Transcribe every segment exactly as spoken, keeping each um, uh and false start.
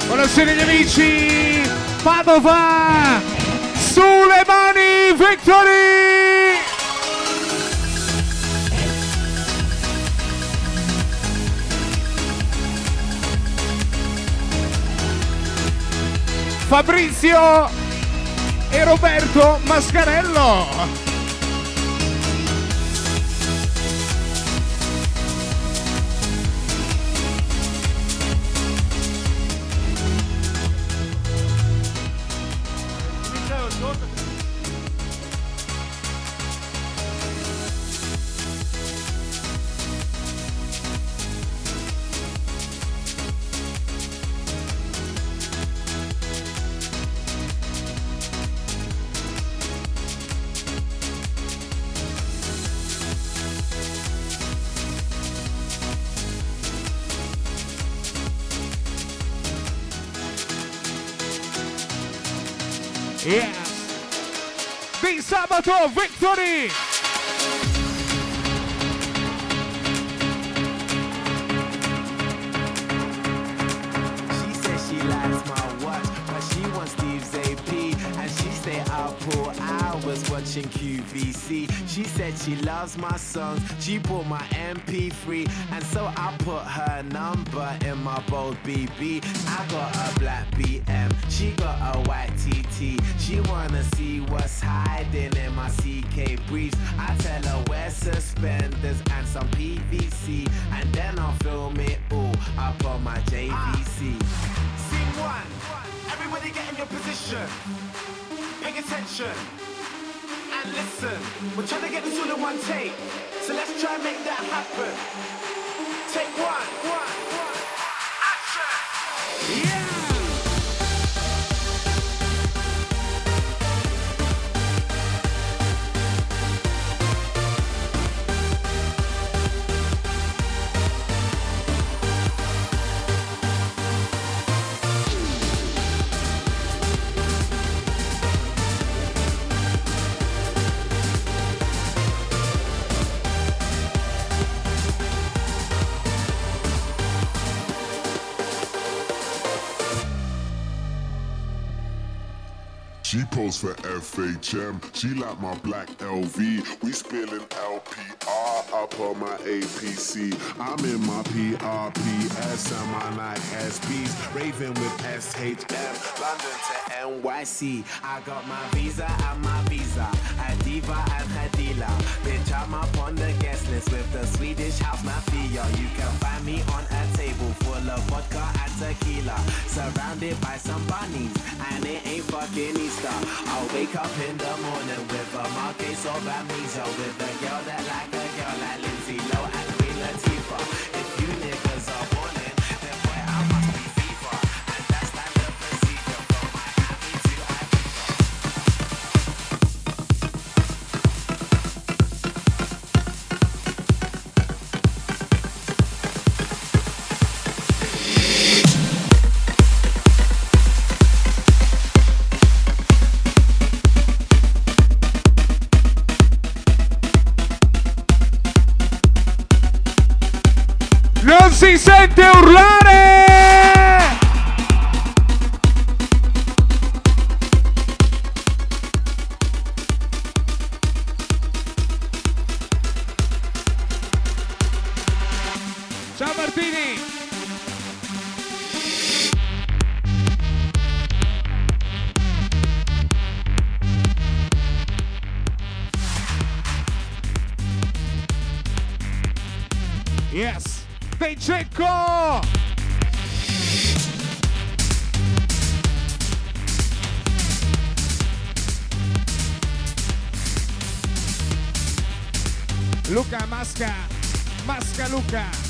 Buonasera gli amici, Padova, sulle mani, Victory! Fabrizio e Roberto Mascarello. Yes! Di sabato, Victory! She says she likes my watch, but she wants Steve's A P, and she stay up for hours watching Q V C. She said she loves my songs, she bought my M P three, and so I put her number in my bold B B. I got a black B M, she got a white T T. She wanna see what's hiding in my C K briefs. I tell her wear suspenders and some P V C, and then I'll film it all up on my J V C. Scene one, everybody get in your position. Pay attention and listen. We're trying to get this all in one take, so let's try and make that happen. Take one, one, one. Action! Yeah! She posed for F H M, she like my black L V. We spilling L P R up on my A P C. I'm in my P R P S and my Nike S Ps. Raving with S H M, London to N Y C. I got my visa and my visa, a diva and her dealer. Bitch, I'm up on the guest list with the Swedish house mafia. You can find me on a table full of vodka and tequila, surrounded by some bunnies, and it ain't fucking Easter. I'll wake up in the morning with a mild case of amnesia, with a girl that like a girl like Lindsay Lowe and Queen Latifah. If you niggas are warning, then boy I must be fever, and that's standard procedure from Miami to Non si sente urlare! Ciao Martini! Yes! Dei Cecco! Luca Masca, Masca Luca.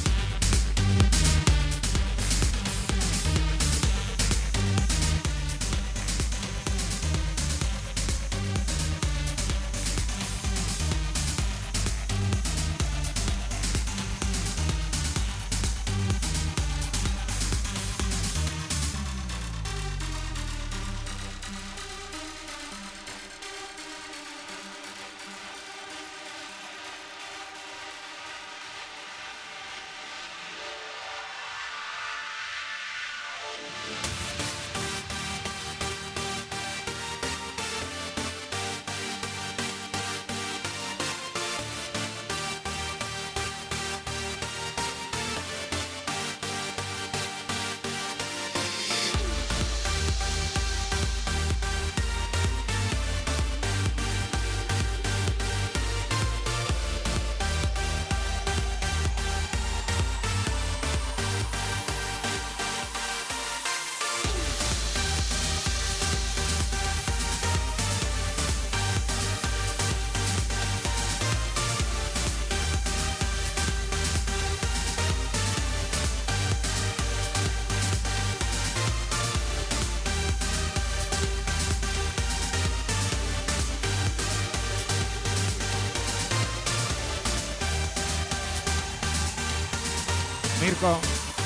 Mirko?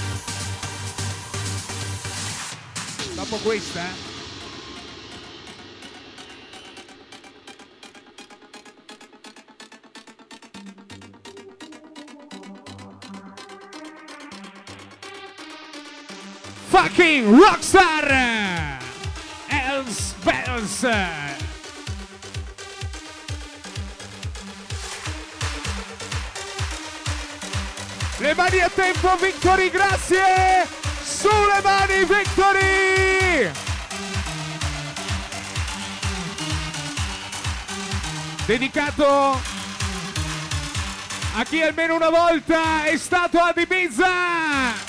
Dopo questa? Fucking rockstar! Els Bells! Le mani a tempo, Victory, grazie! Sulle mani, Victory! Dedicato a chi almeno una volta è stato ad Ibiza!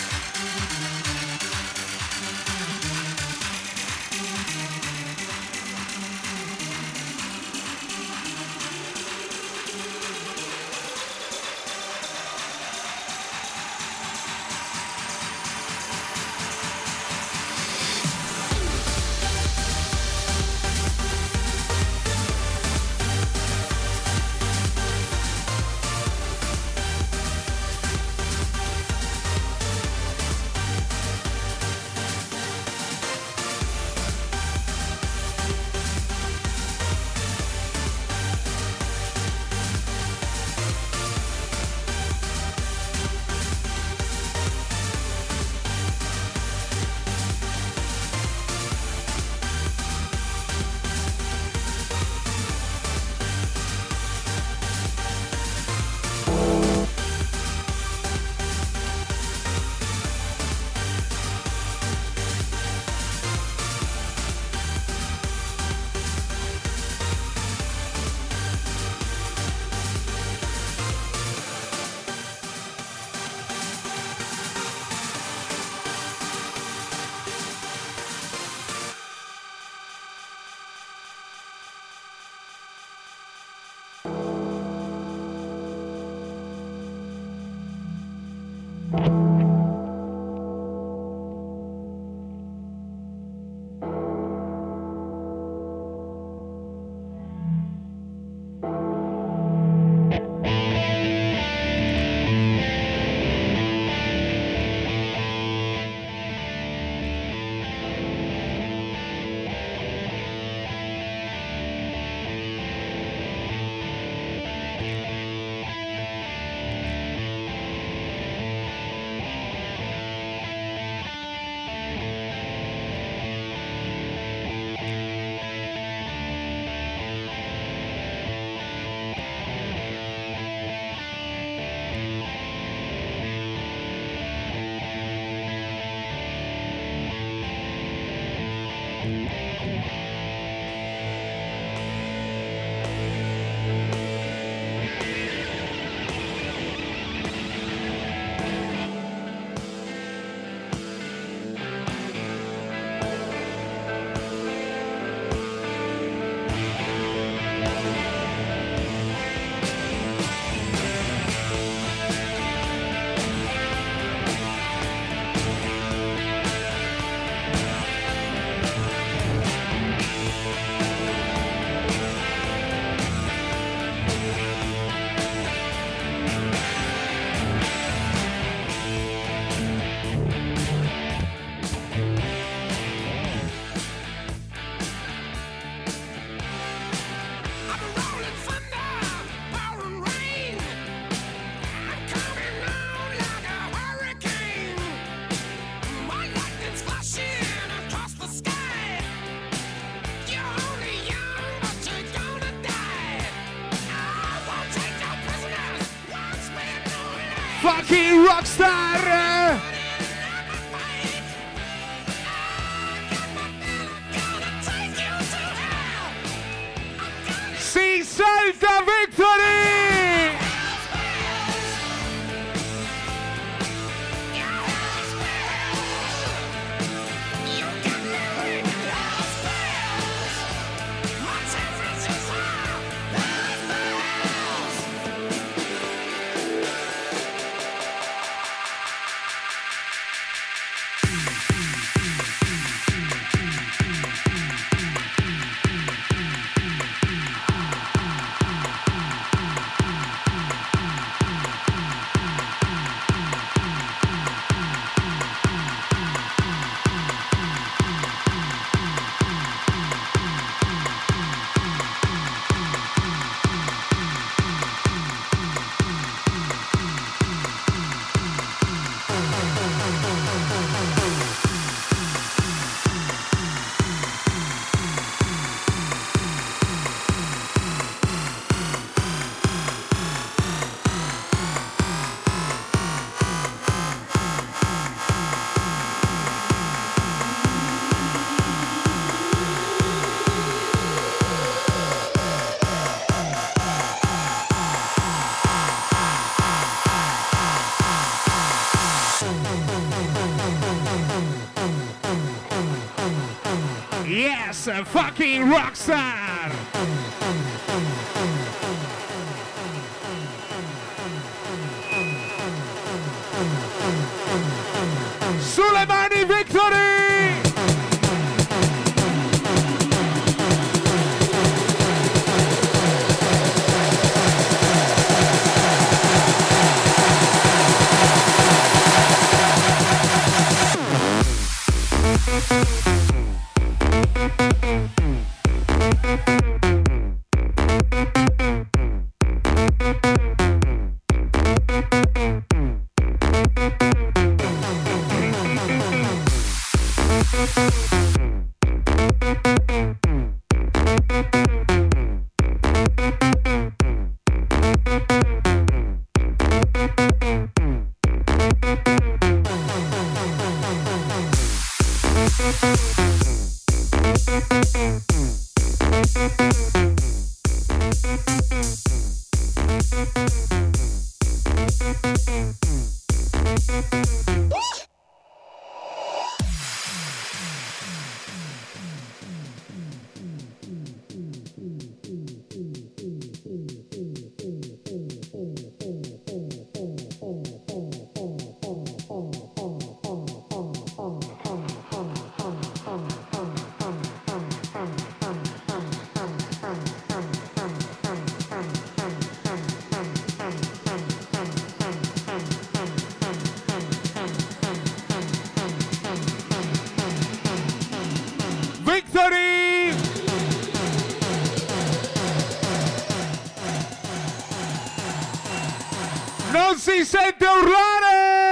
Fucking rockstar! Si salta Victory! Yes, fucking rockstar! Sulle mani, Victory! Non si sente urlare!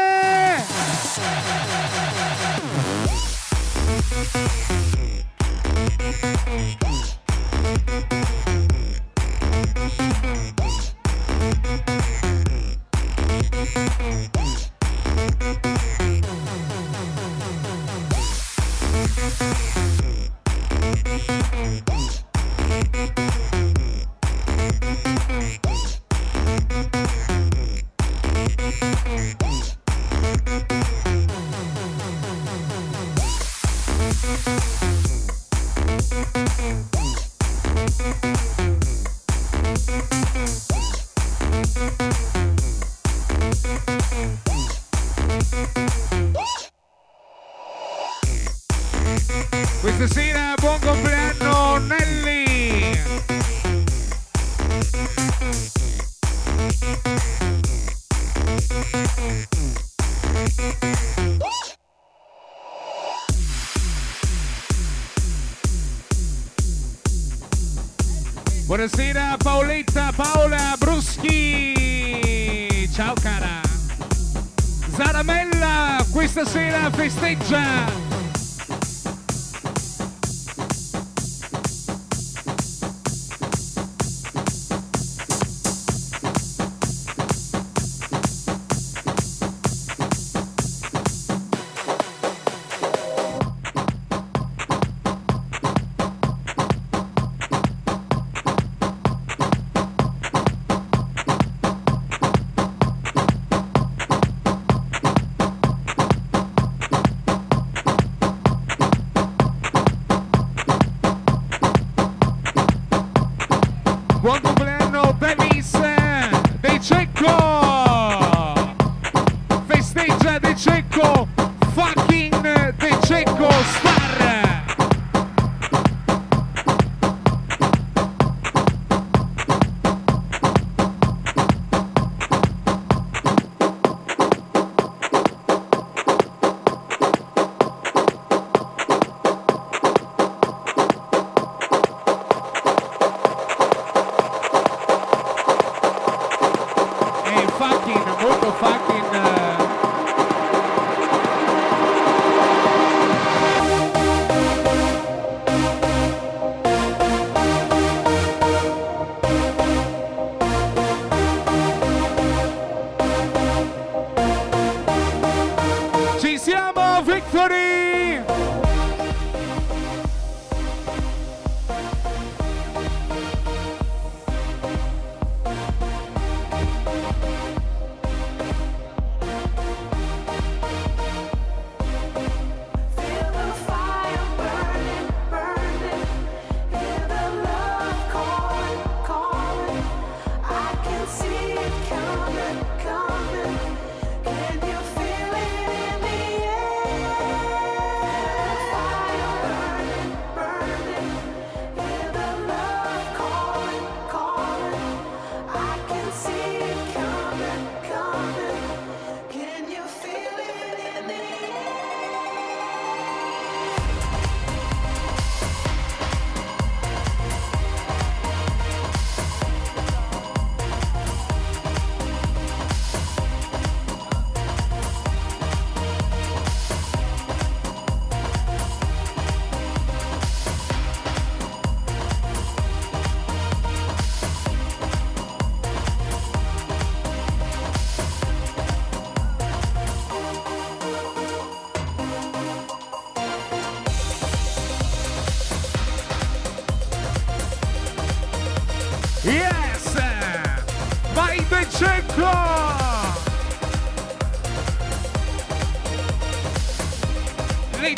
Questa sera buon compleanno Nelly! Buonasera Paoletta, Paola Bruschi! Ciao cara! Zaramella questa sera festeggia!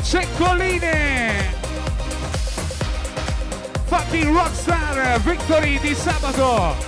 Ceccoline, fucking rockstar, Victory di sabato.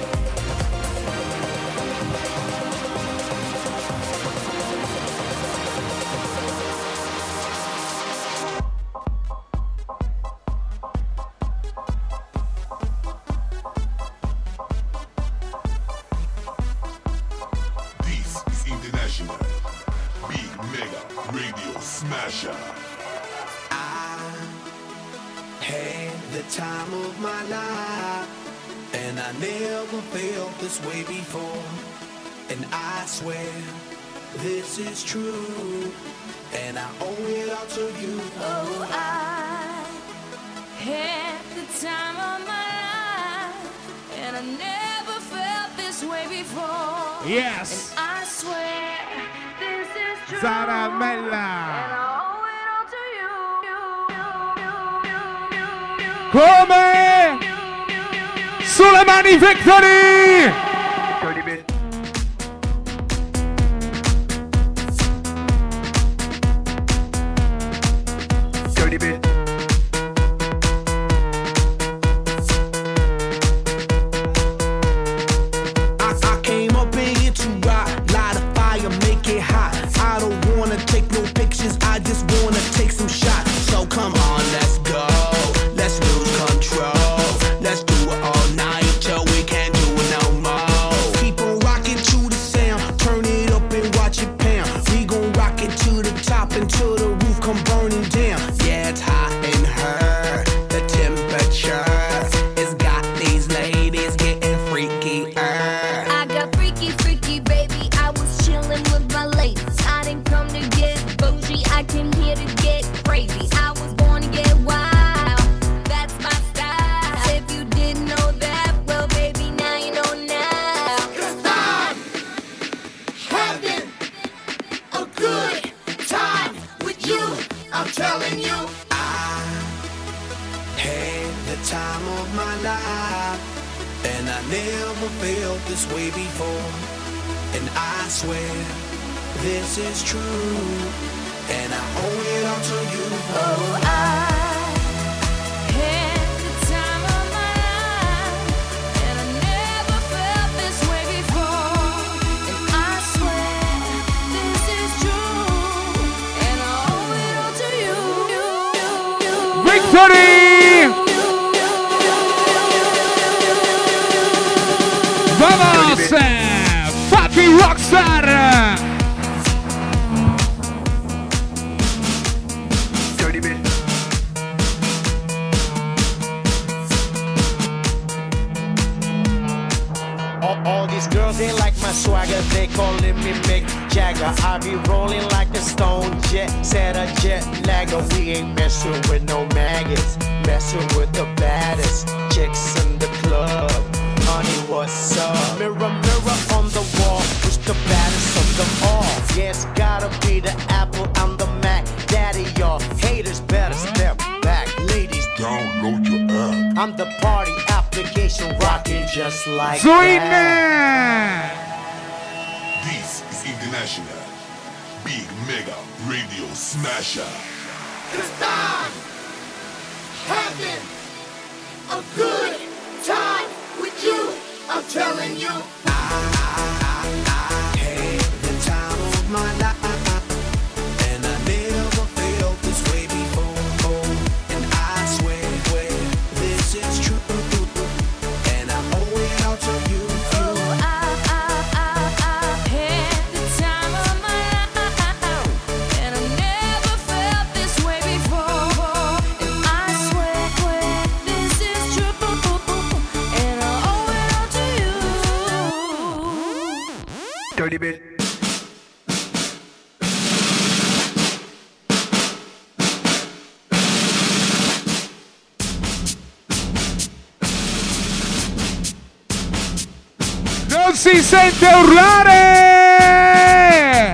Way before, and I swear this is true, and I owe it all to you. Oh, I had the time of my life, and I never felt this way before. Yes. And I swear this is true. Zaramella. And I owe it all to you. Come? Sulle mani, Victory! Dirty bit. Dirty bit. I, I came up in here to rock, light a fire, make it hot. I don't wanna take no pictures, I just wanna take some shots. So come on, let's go, let's lose control. Let's do it all night till we can't do it no more. Keep on rocking to the sound, turn it up and watch it pound. We gon' rock it to the top until the roof come burning down. Yeah, it's hot in her, the temperature has got these ladies getting freaky. I got freaky, freaky, baby. I was chilling with my ladies. I didn't come to get bougie, I came here to get crazy. I was born to get wild, that's my style. If you didn't know that, well, baby, now you know now. 'Cause I'm having a good time with you. I'm telling you. I had the time of my life, and I never felt this way before. And I swear this is true, and I owe it all to you. Oh, I had the time of my life, and I never felt this way before. And I swear this is true, and I owe it all to you. Victory! Vamos! Fucking rockstar! Dirty bit. All, all these girls, they like my swagger, they calling me Mick Jagger. I be rolling like a stone jet, set a jet lagger. We ain't messing with no maggots, messing with the baddest chicks in the club. Honey, what's up? Mirror, mirror on the wall, who's the baddest of them all? Yeah, it's gotta be the Apple, I'm the Mac. Daddy, y'all haters better step back. Ladies, Download your app. I'm the party application rocking just like Sweetness! that. This is International Big Mega Radio Smasher. 'Cause I'm having a good time with you. I'm telling you. I had the time of my life, and I never felt this way before. And I swear, swear this is true, and I owe it all to you. Oh, I, I, I, I had the time of my life, and I never felt this way before. And I swear, swear this is true, and I owe it all to you. Dirty bit. Non si sente urlare!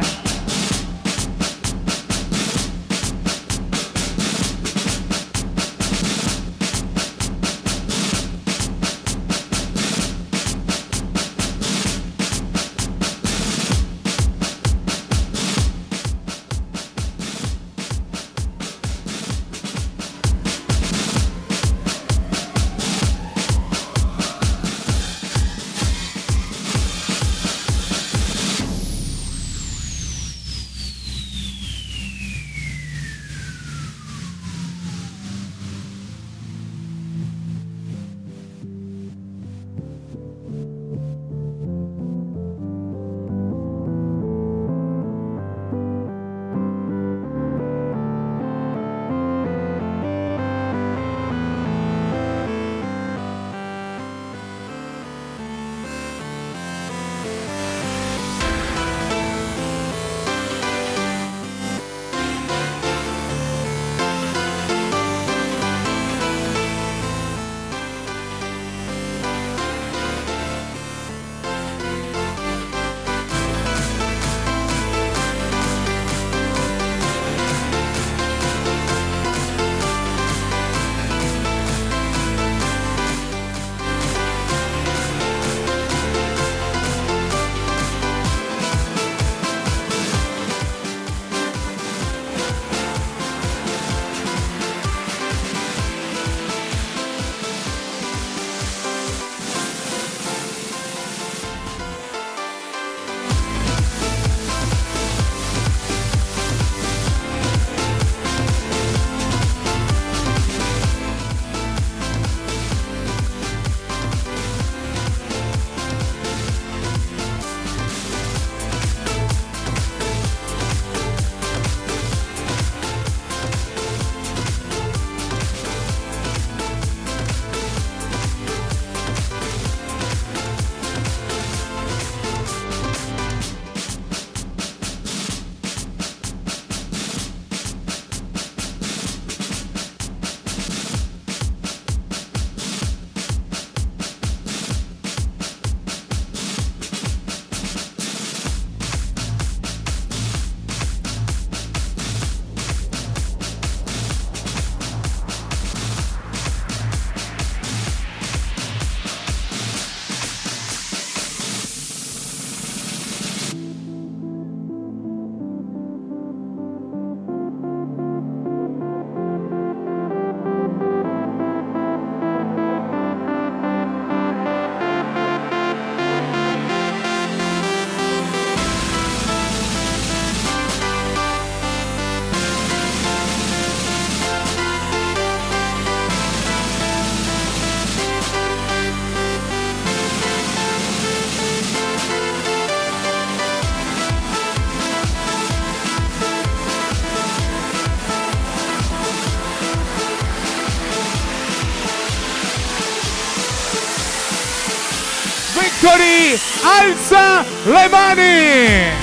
Victory, alza le mani!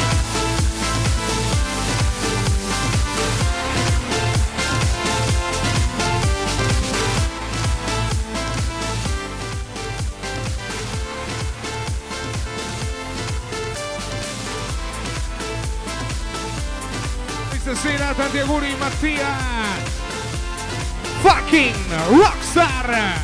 Stasera tanti auguri Mattia, fucking rockstar.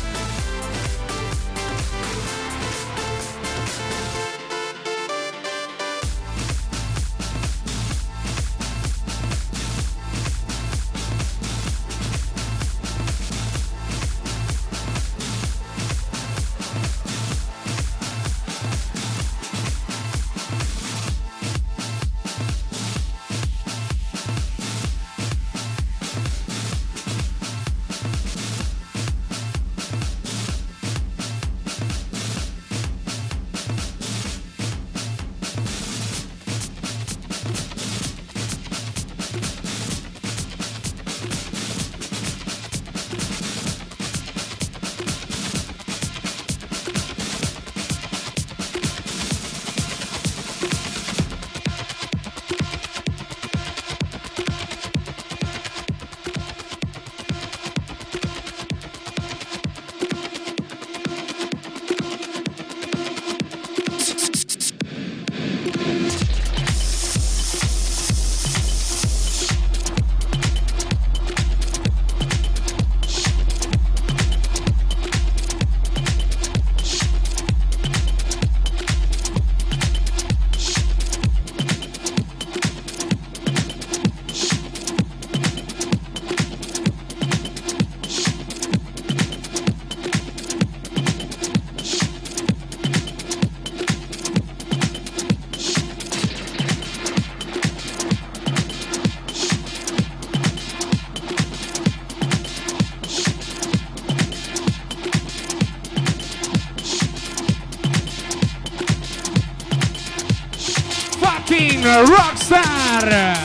Rockstar.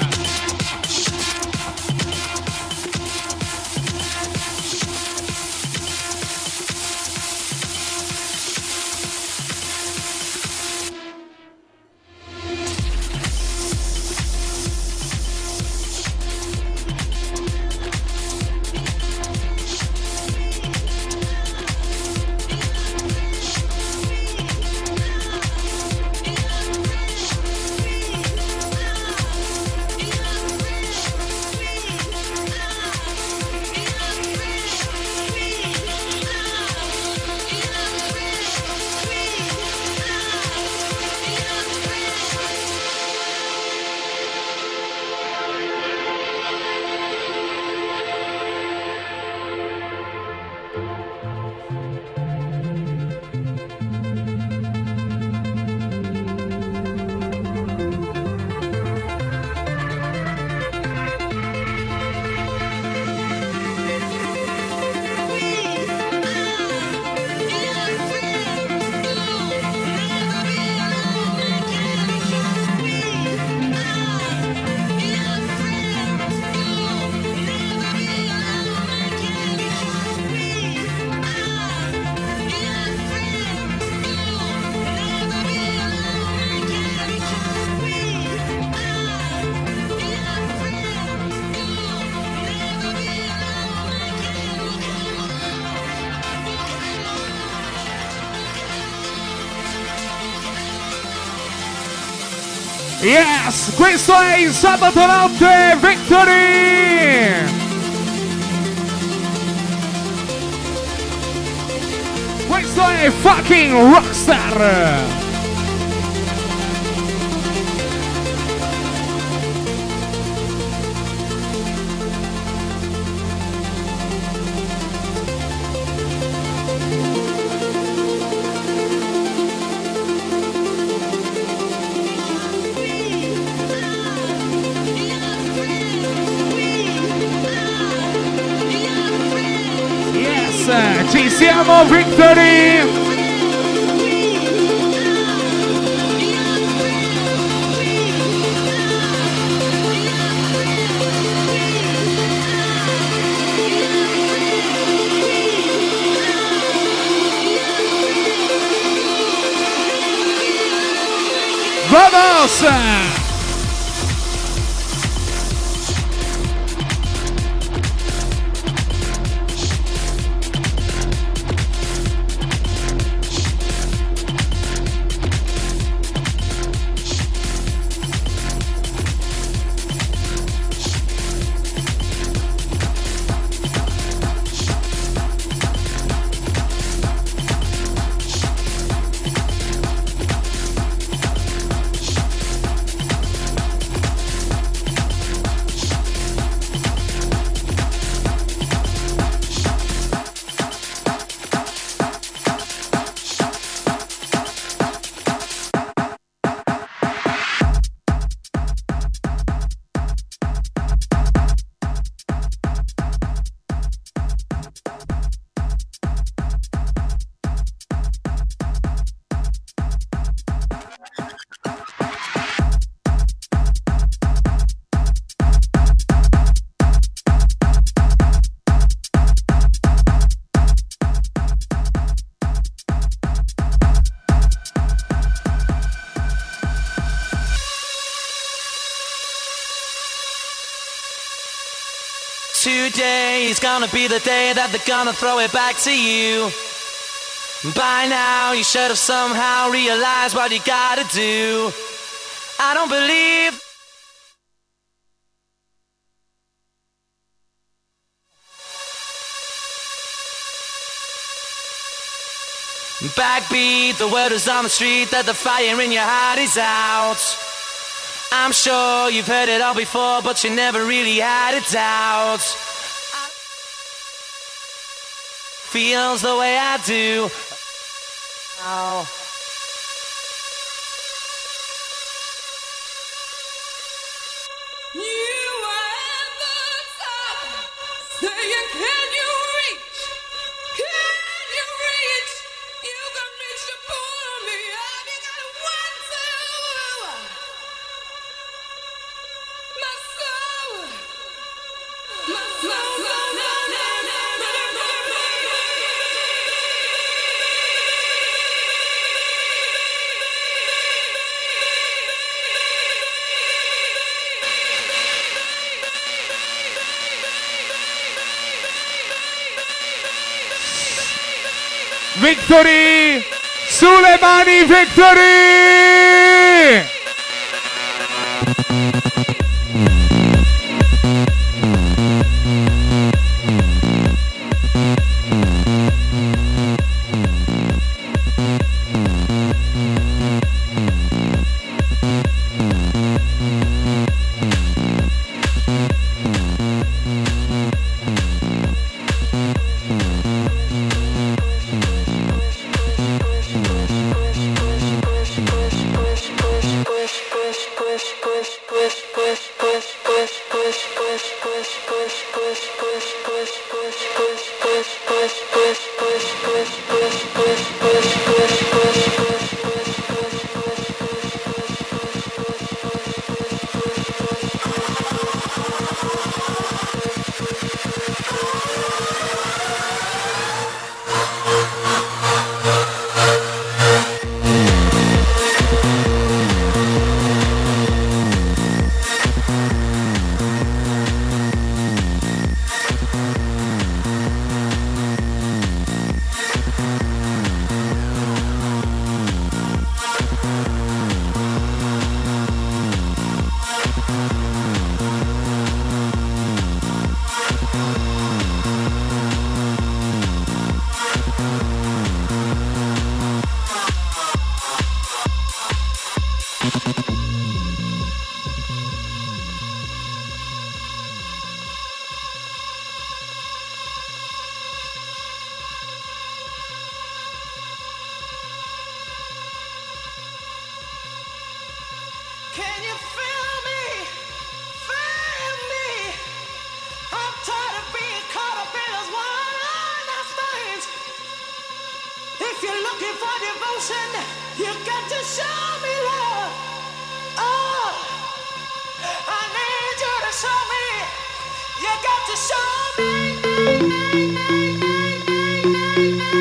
Yes, questo è il sabato notte Victory! Questo è fucking rockstar! Ci siamo, Victory! House. Today's gonna be the day that they're gonna throw it back to you. By now you should have somehow realized what you gotta do. I don't believe backbeat, the word is on the street that the fire in your heart is out. I'm sure you've heard it all before, but you never really had a doubt. Feels the way I do. Oh. Victory! Sulle mani, Victory!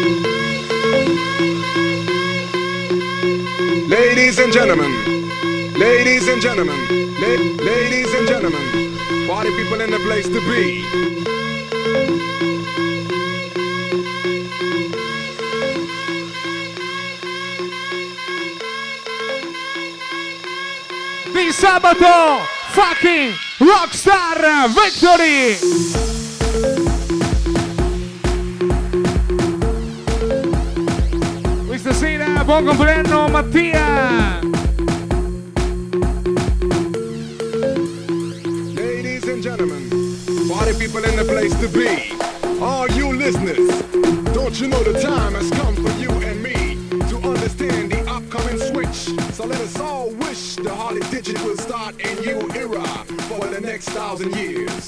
Ladies and gentlemen, Ladies and gentlemen, la- ladies and gentlemen, party people in the place to be. Di sabato, fucking Rockstar Victory! Questa sera, buon compleanno Mattia! Ladies and gentlemen, party people in the place to be. All you listeners, don't you know the time has come for you and me to understand the upcoming switch? So let us all wish the Harley Digit will start a new era for the next thousand years.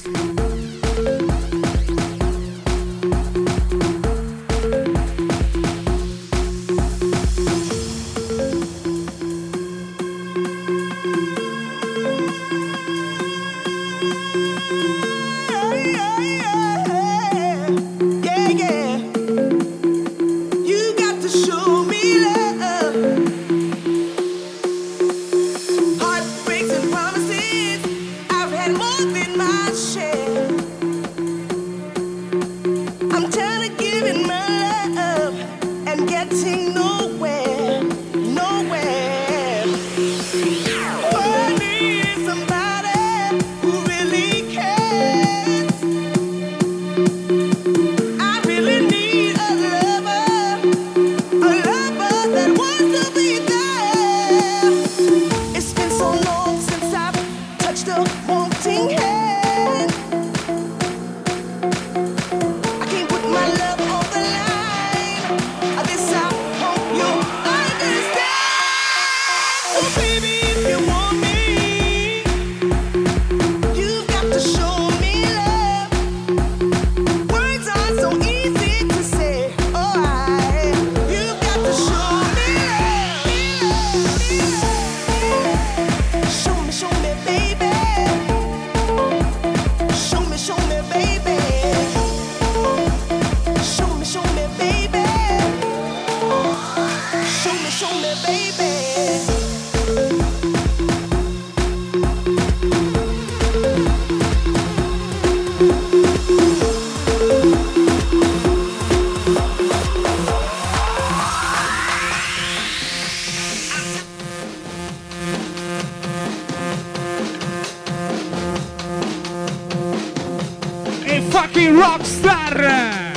fucking Rockstar!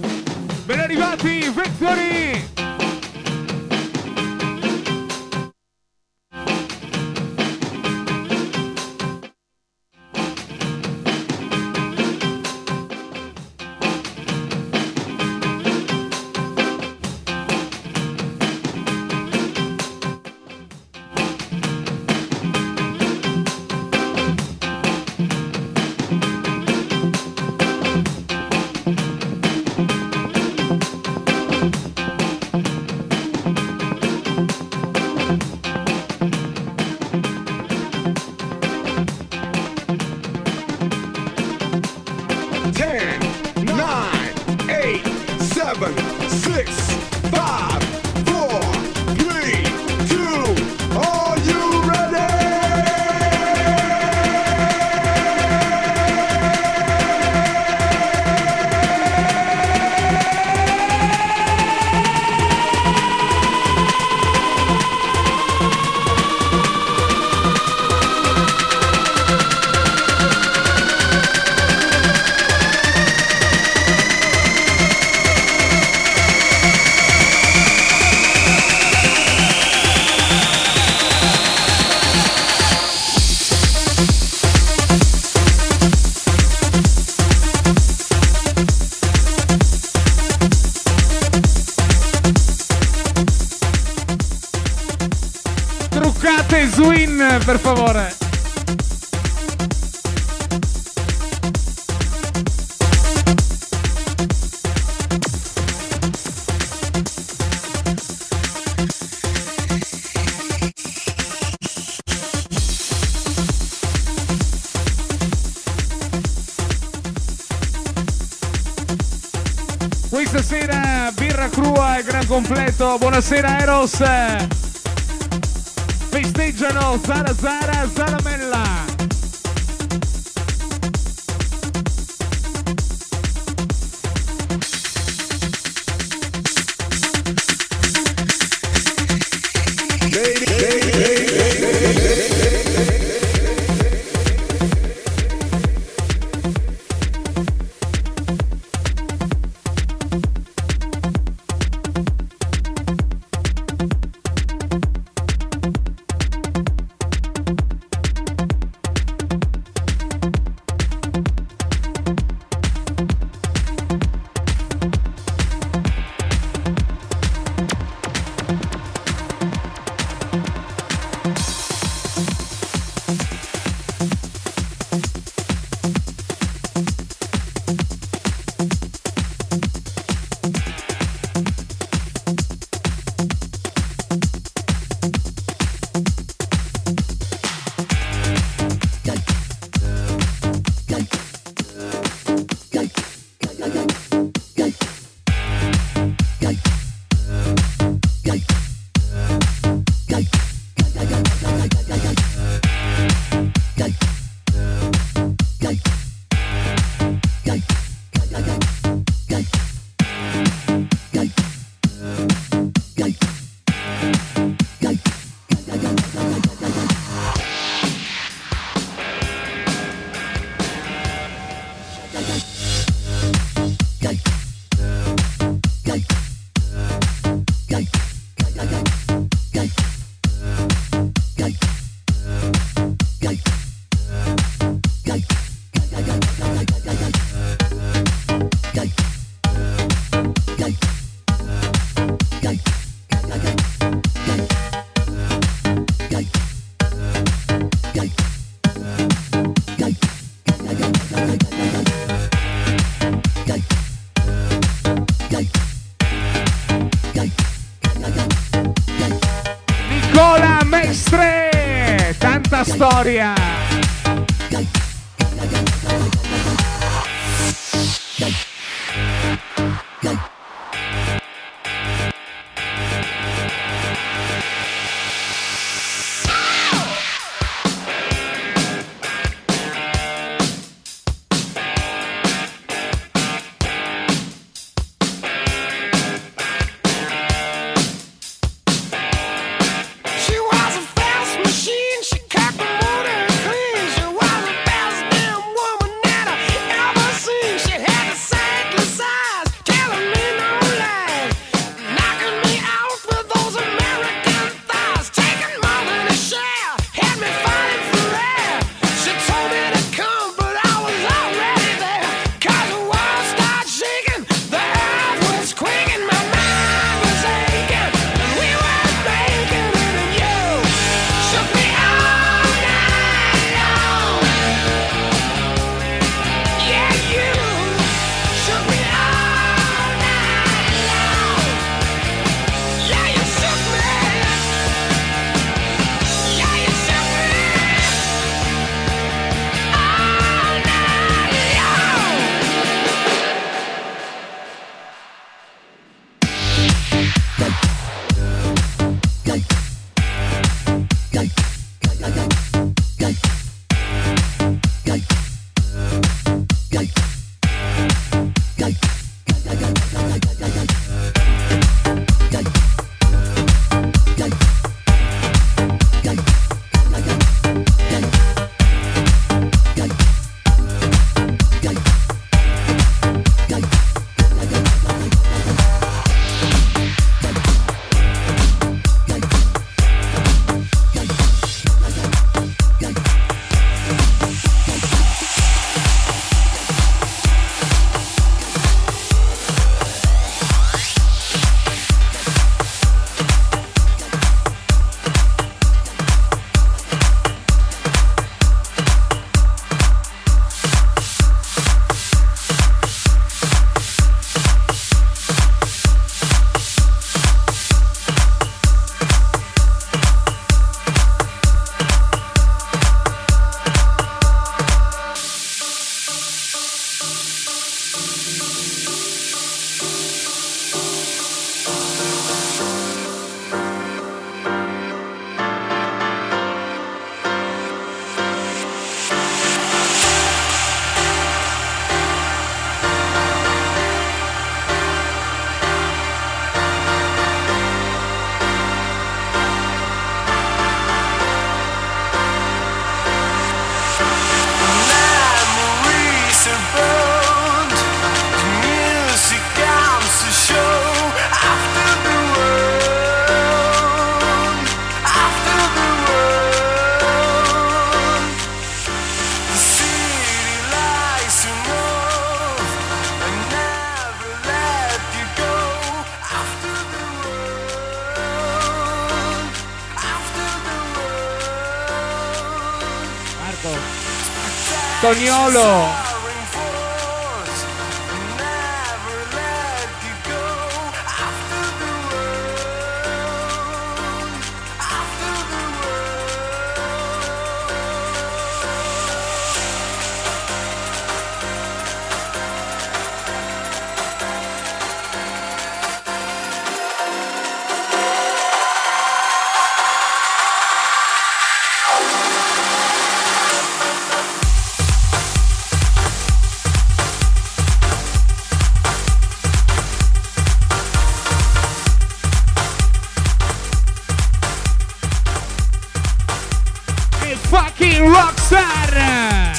Ben arrivati, Victory! Swin, per favore. Questa sera birra crua e gran completo. Buonasera Eros. festeggiano Sara Sara Zaramella. Nicola Mestre, tanta storia. Cognolo. Fucking rockstar!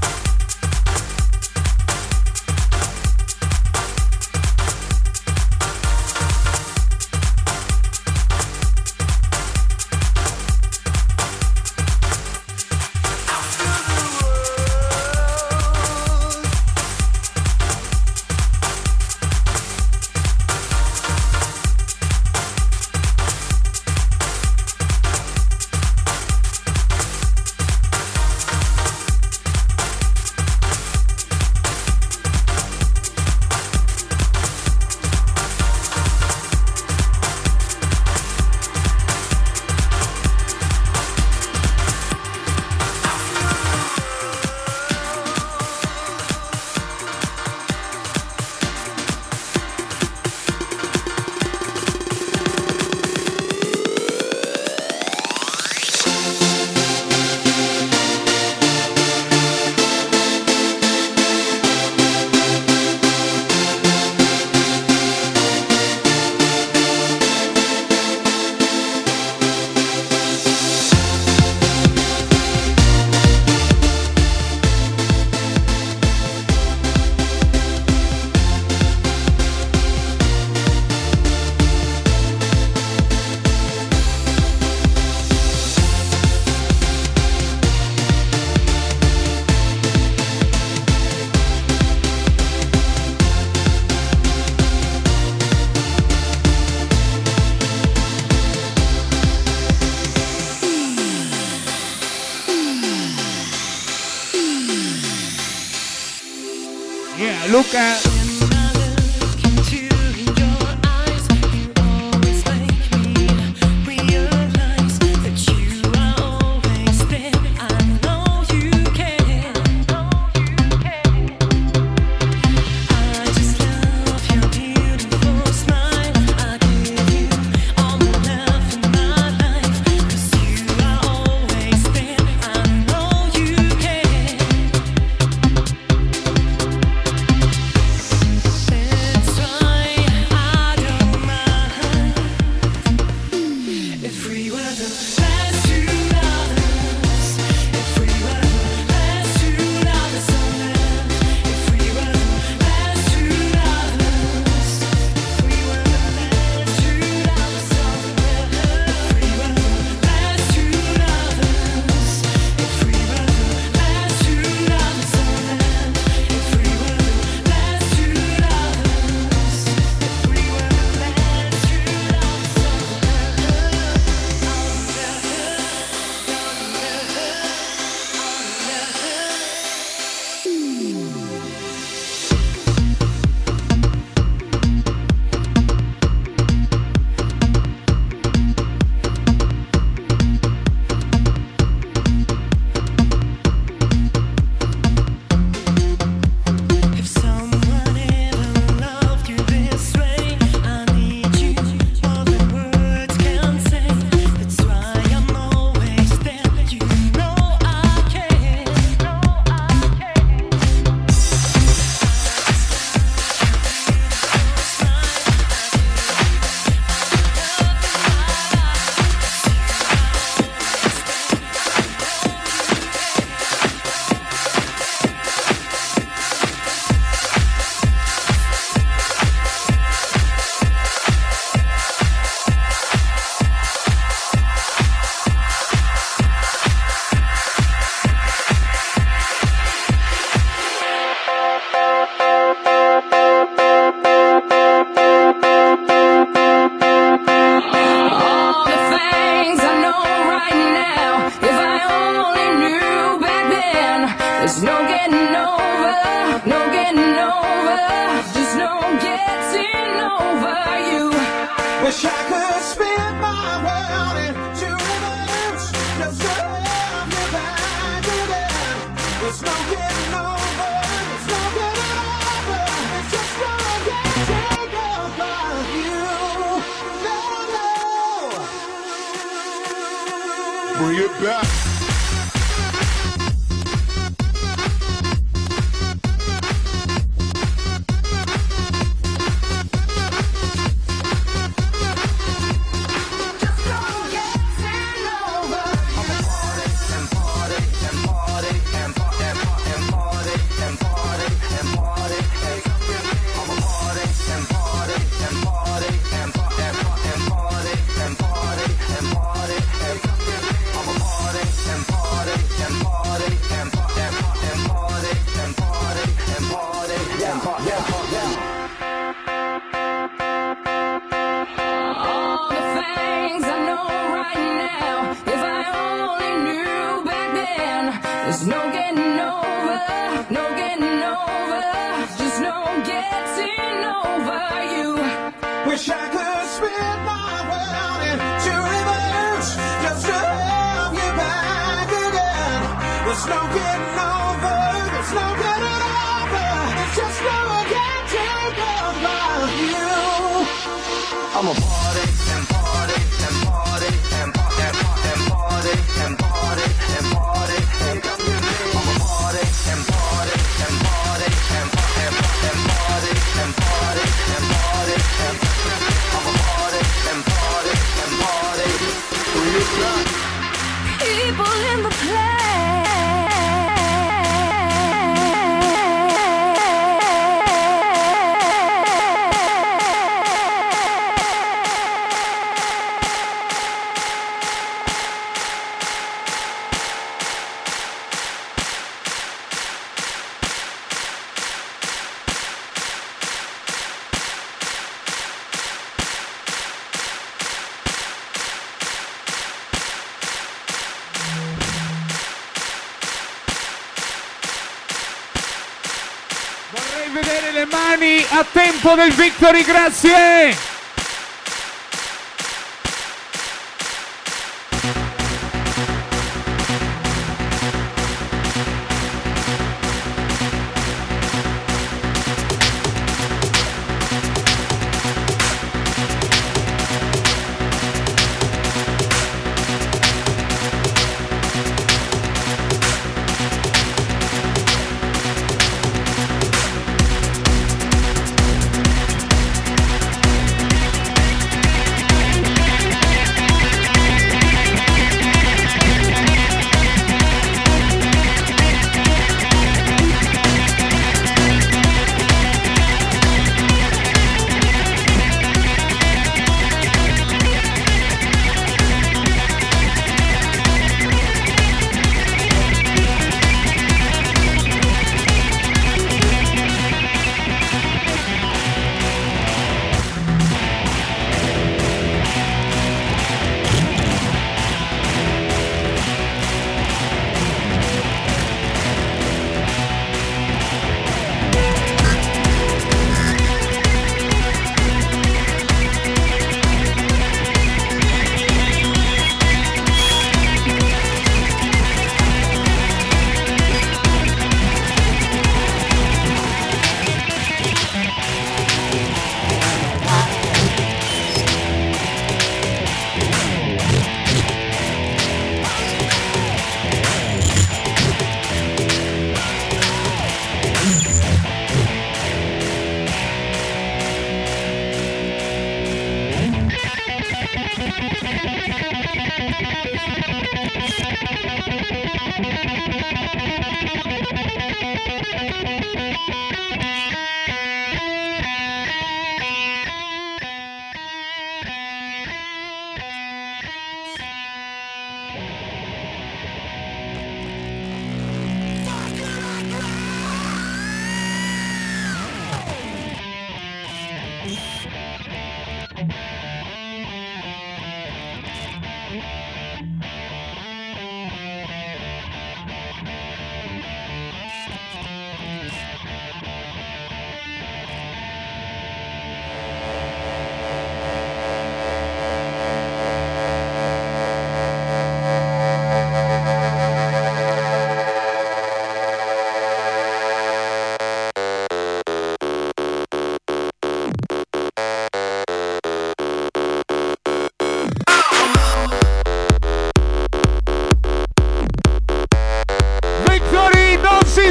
Yeah, look at. Wish I could spin my world into reverse, just to have you back again. There's no getting over, there's no getting over. It's just gonna get taken over you. No, no. Bring it back. There's no getting over, no getting over, just no getting over you. Wish I could spin my world into reverse, just to have you back again. There's no getting over, there's no getting over, it's just no getting over you. I'm a party and party and party and party and party and party and party and party and party. I'm a party and party and party and party and party and party and party and party. I'm a party and party and party. Bring it back. People in the play. Vorrei vedere le mani a tempo del Victory, grazie!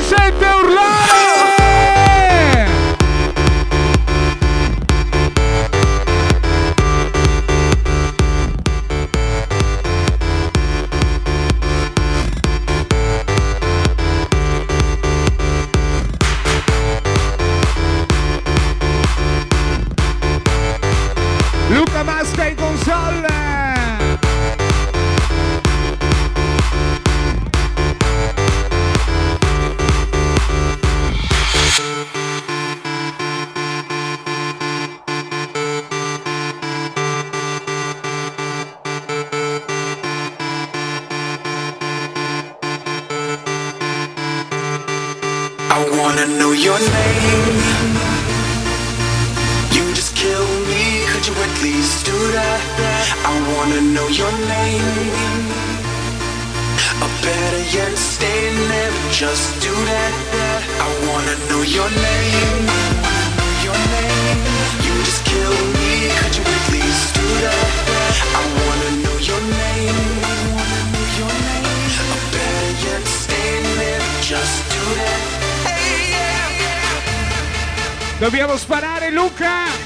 sente urlare? Luca Masca in console. I wanna know your name. You just kill me, could you at least do that? I wanna know your name. Or better yet, stay there, just do that. I wanna know your name. Your name. You just kill me, could you at least do that? I wanna know your name. Your name. Or better yet, stay there, just do that. Dobbiamo sparare, Luca!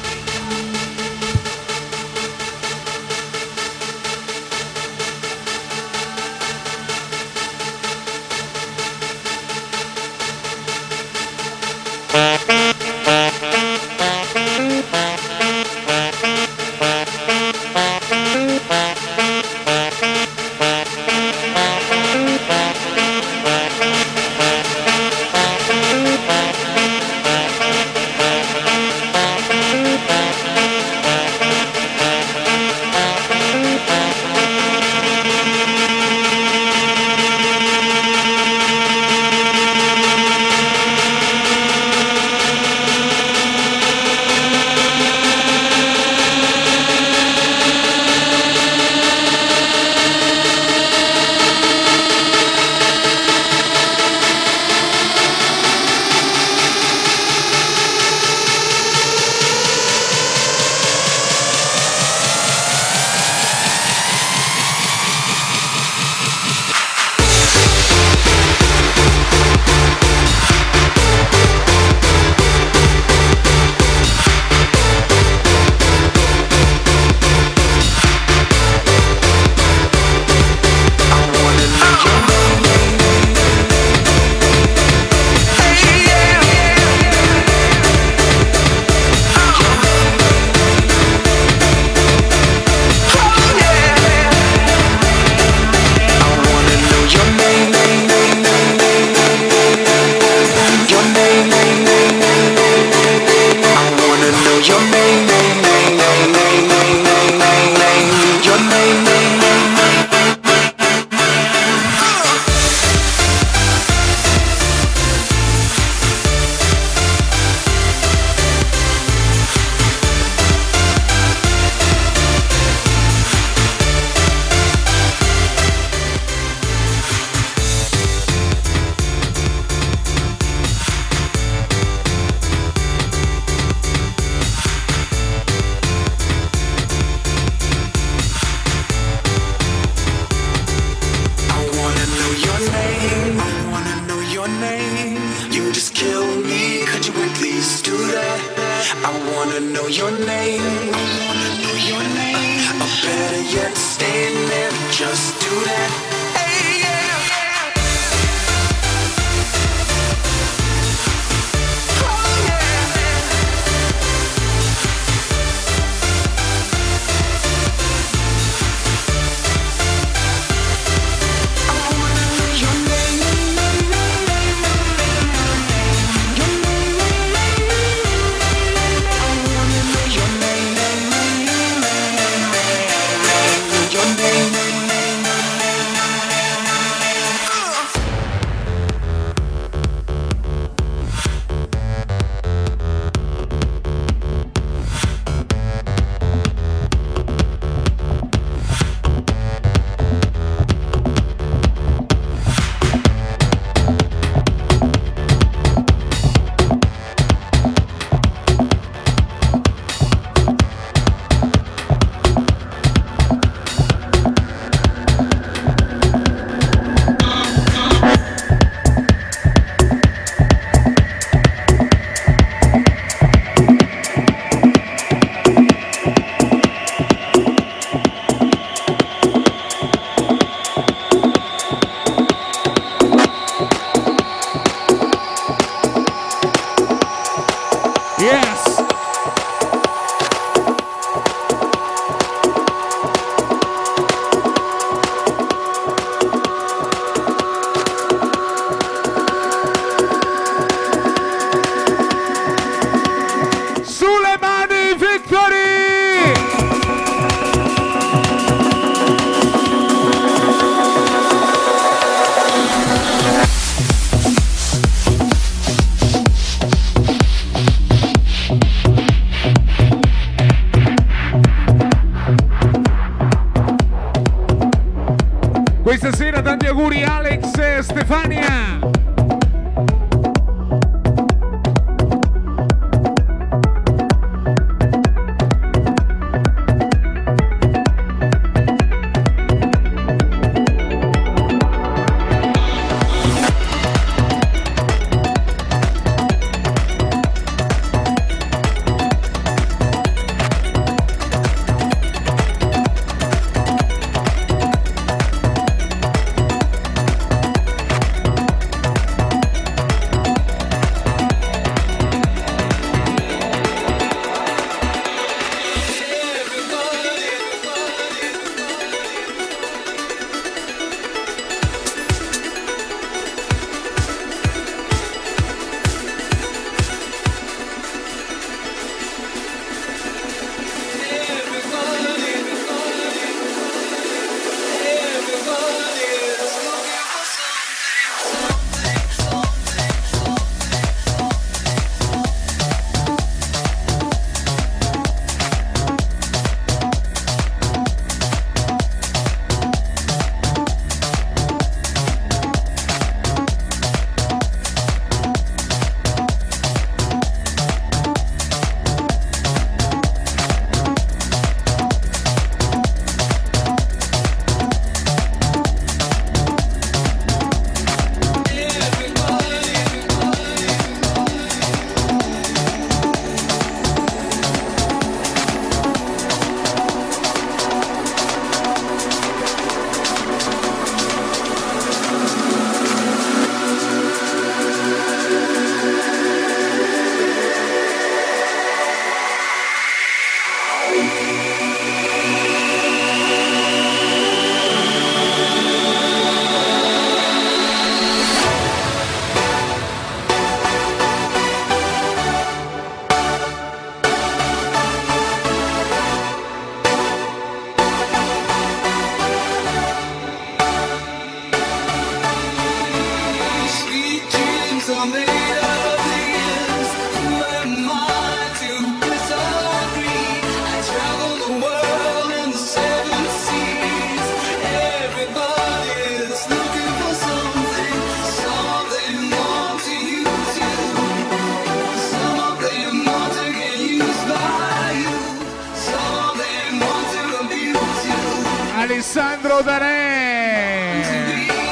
Alessandro Danè.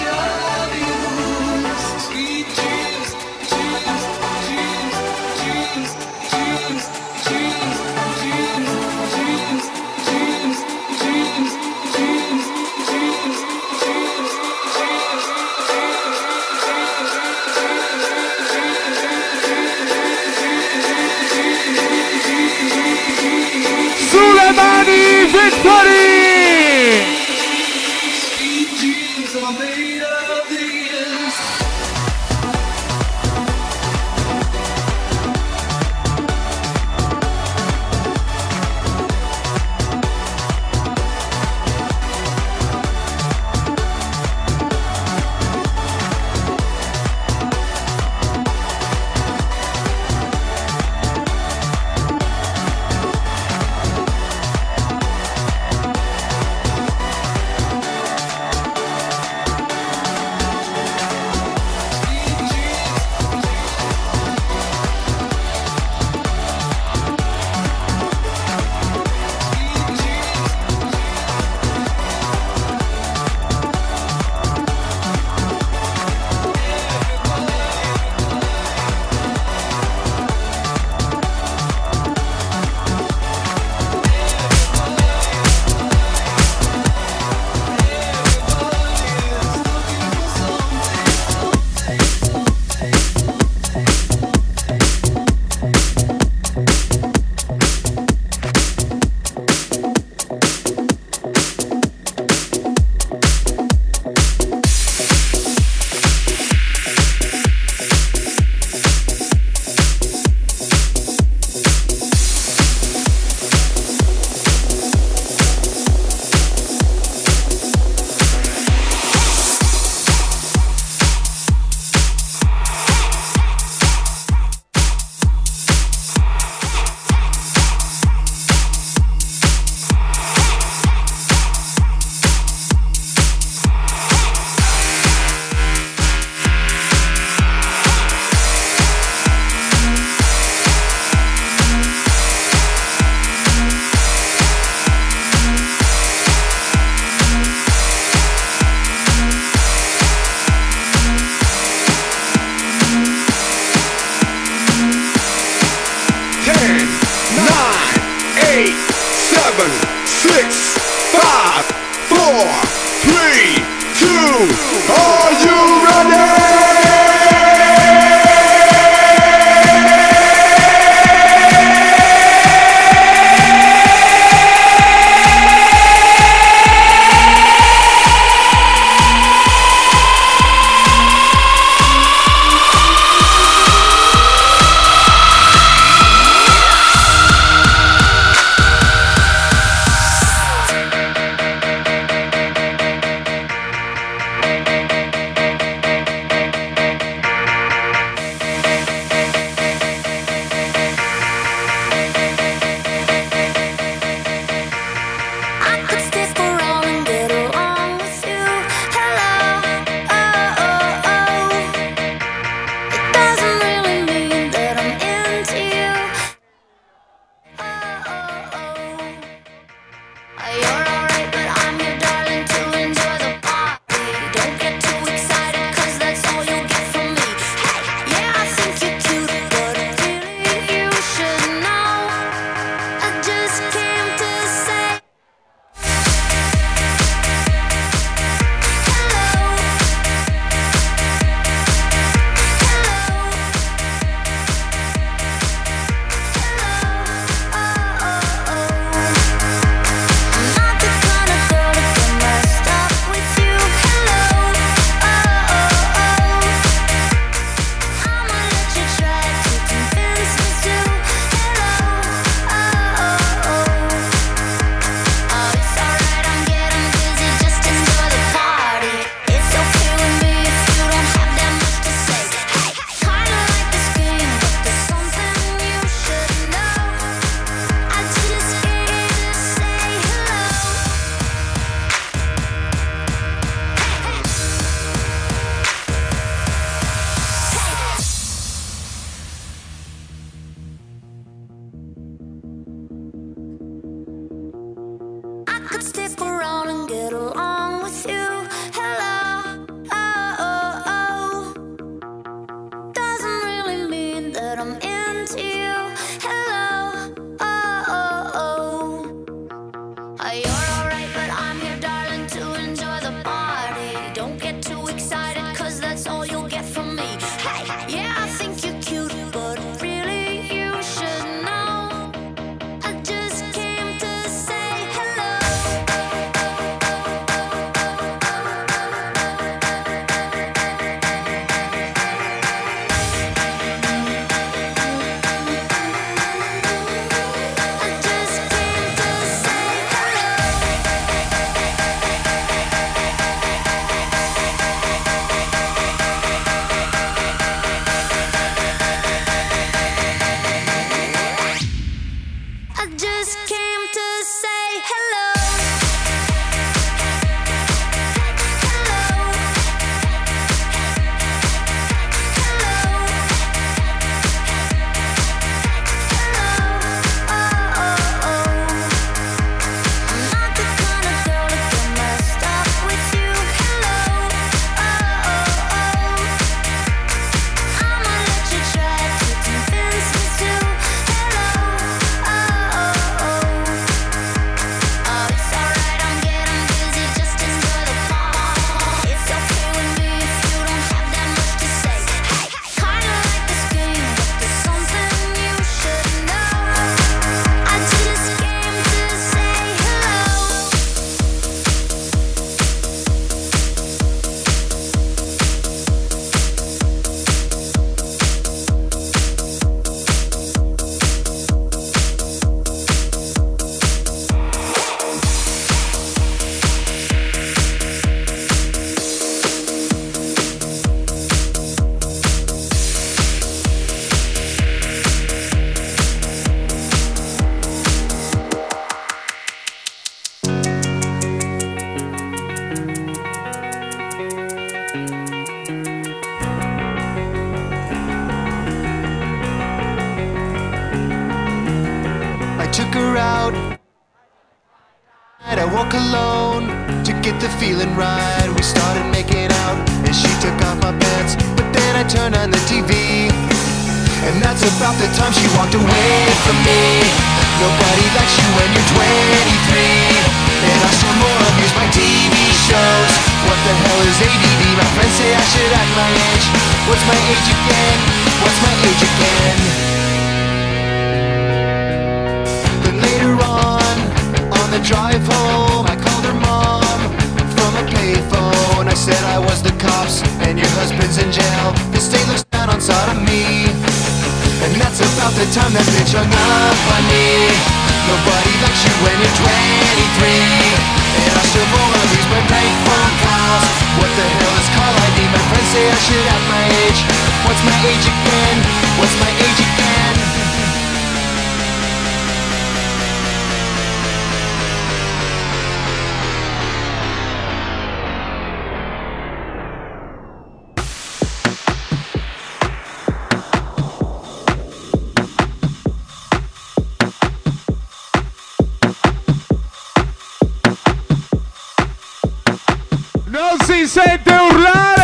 Sulle mani, Victory! could stick around and get along with you. Hello, oh, oh, oh. Doesn't really mean that I'm into you. Hello, oh, oh, oh. Uh, You're alright, but I'm here, darling, to enjoy the party. Don't get too excited, cause that's all you'll get from me. Hey, yeah, I think you're cute, but really you should know. I just came to say hello. I just came to say hello. I just came to say hello. Hello. Hello. Oh, oh, oh. I'm not the kind of girl to get messed up with you. Hello. Oh, oh, oh. I'ma let you try to convince me to. Hello. Oh, oh, oh. Oh, it's alright, I'm getting busy. Just enjoy the fun. It's okay with me if you don't have that much to say. Hey, kinda like this game, but there's something you should know. I just came to say hello. I took her out. I walk alone to get the feeling right. We started making out and she took off my pants, but then I turned on the T V, and that's about the time she walked away from me. Nobody likes you when you're twenty-three, and I still more abuse my T V shows. What the hell is A D D? My friends say I should act my age. What's my age again? What's my age again? But later on, on the drive home, I called her mom from a payphone. I said I was the cops and your husband's in jail. The state looks down on sodomy, and that's about the time that bitch hung up on me. Nobody likes you when you're twenty-three, and I still roll on these my prank phone calls. What the hell is call I D? My friends say I should have my age. What's my age again? What's my age again? Non si sente urlare!